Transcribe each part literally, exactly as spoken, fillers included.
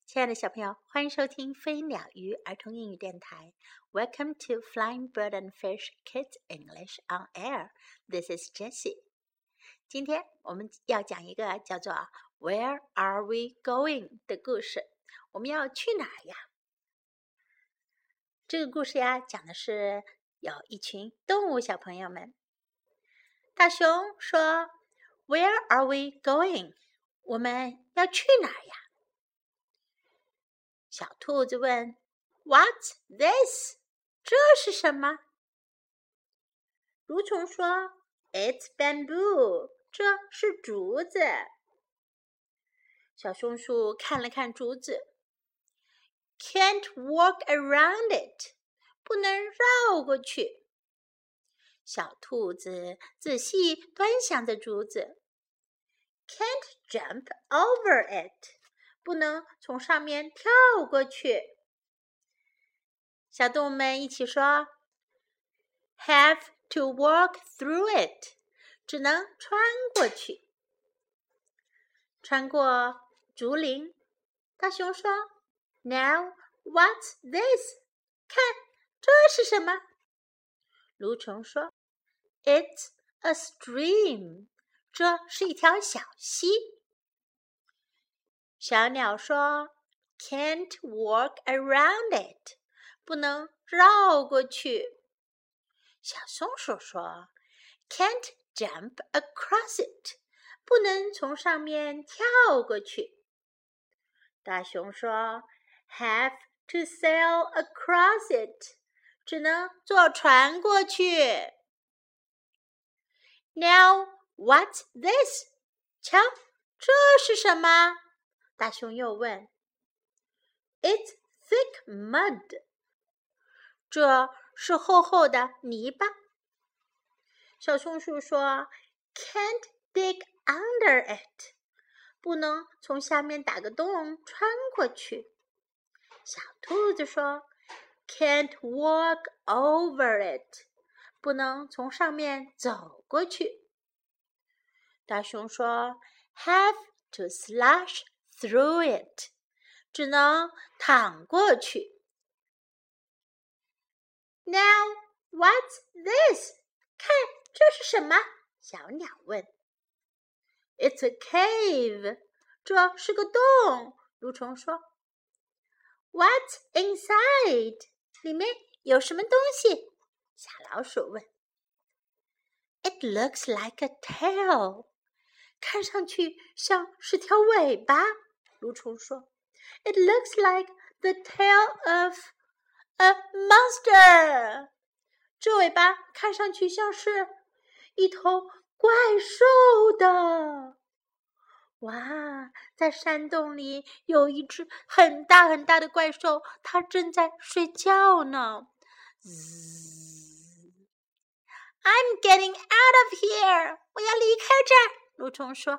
亲爱的小朋友，欢迎收听飞鸟鱼儿童英语电台。Welcome to Flying Bird and Fish Kids English on Air. This is Jessie. 今天我们要讲一个叫做 Where are we going 的故事。我们要去哪儿呀？这个故事呀，讲的是有一群动物小朋友们。大熊说 Where are we going? 我们要去哪儿呀？小兔子问 What's this? 这是什么？蠕虫说 It's bamboo. 这是竹子。小松鼠看了看竹子 Can't walk around it. 不能绕过去。小兔子仔细端详着竹子 Can't jump over it. 不能从上面跳过去。小动物们一起说 Have to walk through it. 只能穿过去。穿过竹林。大熊说 Now what's this? 看，这是什么？蠕虫说 It's a stream. 这是一条小溪。小鸟说 Can't walk around it. 不能绕过去。小松鼠说 Can't jump across it. 不能从上面跳过去。大熊说 Have to sail across it. 只能坐船过去。Now what's this? 瞧，这是什么？大熊又问 It's thick mud. 这是厚厚的泥巴。小松鼠说 Can't dig under it. 不能从下面打个洞穿过去。小兔子说 Can't walk over it. 不能从上面走过去。大熊说 Have to slash through it. 只能淌过去。Now what's this? 看，这是什么？小鸟问。It's a cave. 这是个洞。蠕虫说。What's inside? 里面有什么东西？小老鼠问。It looks like a tail. 看上去像是条尾巴。蠕虫说 It looks like the tail of a monster. 这尾巴看上去像是一头怪兽的。哇，在山洞里有一只很大很大的怪兽，它正在睡觉呢。I'm getting out of here. 我要离开这儿。蠕虫说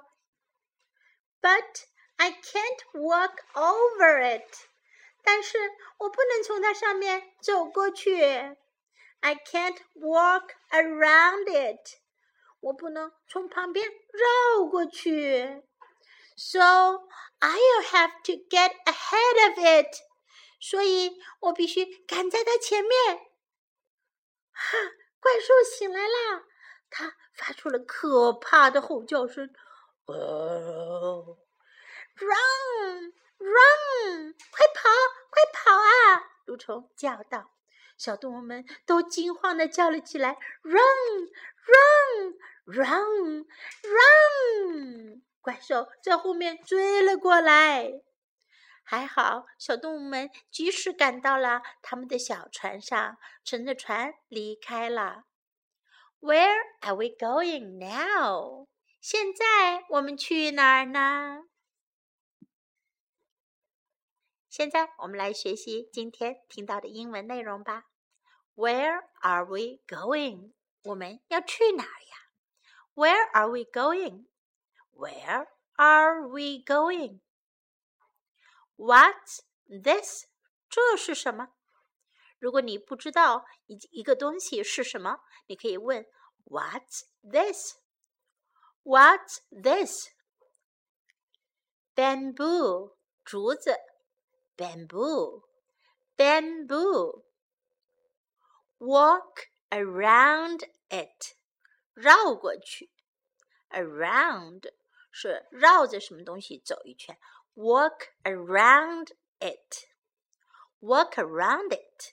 But I can't walk over it. 但是我不能从它上面走过去。I can't walk around it. 我不能从旁边绕过去。So I'll have to get ahead of it. 所以我必须赶在它前面。哈，怪兽醒来啦！它发出了可怕的吼叫声。哦 Run! Run! 快跑！快跑啊！蠕虫叫道。小动物们都惊慌地叫了起来 Run! Run! Run! Run! 怪兽在后面追了过来。还好，小动物们及时赶到了他们的小船上，乘着船离开了。Where are we going now? 现在我们去哪儿呢？现在我们来学习今天听到的英文内容吧。Where are we going? 我们要去哪儿呀？ Where are we going? Where are we going? What's this? 这是什么？如果你不知道一一个东西是什么，你可以问 What's this? What's this? Bamboo, 竹子 bamboo, bamboo. Walk around it, 绕过去。Around 是绕着什么东西走一圈。Walk around it, walk around it.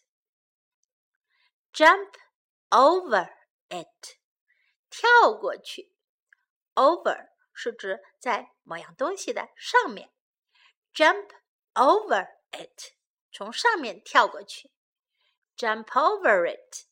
Jump over it, 跳过去。Over 是指在某样东西的上面。Jump over it, 从上面跳过去。Jump over it.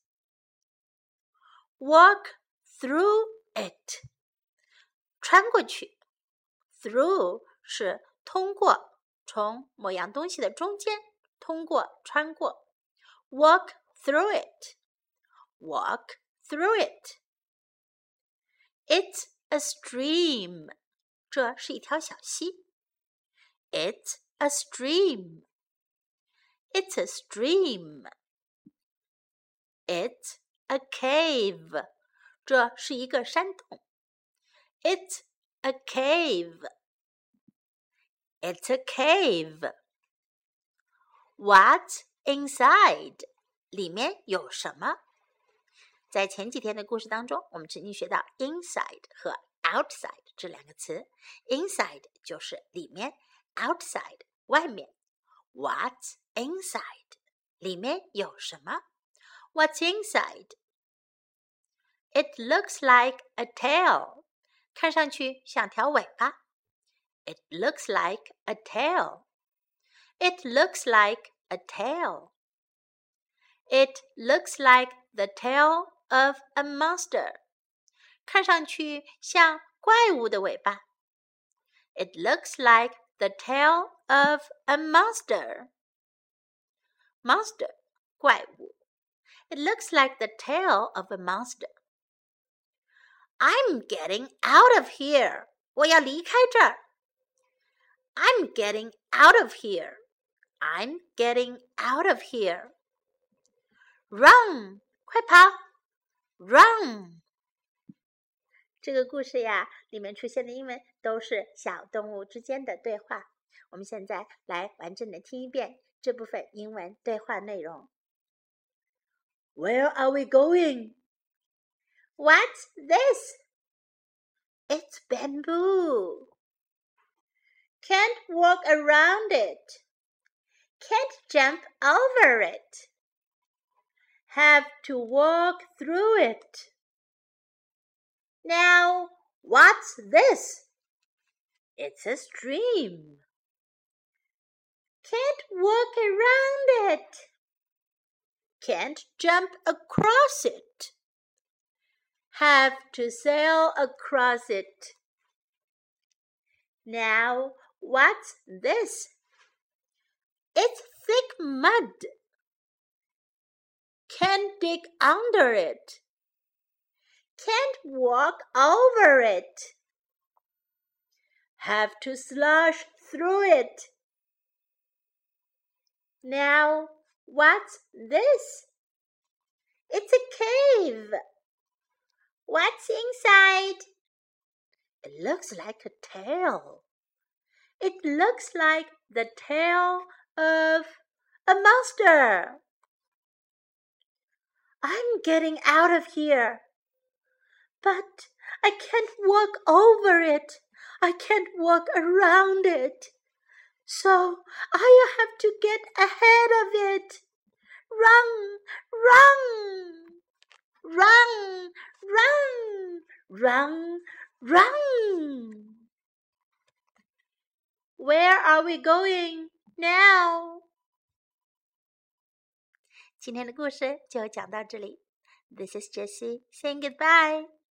Walk through it, 穿过去。Through 是通过，从某样东西的中间，通过，穿过。Walk through it, walk through it. It's a stream, 这是一条小溪。It's a stream, it's a stream. It's a cave, 这是一个山洞。It's a cave, it's a cave. What's inside? 里面有什么？在前几天的故事当中，我们曾经学到 inside 和 outside 这两个词。inside 就是里面， outside 外面。What's inside? 里面有什么？ What's inside? It looks like a tail. 看上去像条尾巴。It looks like a tail. It looks like a tail. It looks like the tail of a monster. 看上去像怪物的尾巴。It looks like the tail of a monster. Monster, 怪物。It looks like the tail of a monster. I'm getting out of here. 我要离开这儿。I'm getting out of here. I'm getting out of here. Run, 快跑 Run. 这个故事呀，里面出现的英文都是小动物之间的对话。我们现在来完整的听一遍这部分英文对话内容。Where are we going? What's this? It's bamboo. Can't walk around it. Can't jump over it. Have to walk through it. Now, what's this? It's a stream. Can't walk around it. Can't jump across it. Have to sail across it. Now, what's this? It's thick mud. Can't dig under it. Can't walk over it. Have to slosh through it. Now, what's this? It's a cave. What's inside? It looks like a tail. It looks like the tail of a monster. I'm getting out of here. But I can't walk over it. I can't walk around it. So I have to get ahead of it. Run, run, run, run, run, run. Where are we going now? 今天的故事就讲到这里。This is Jessie saying goodbye.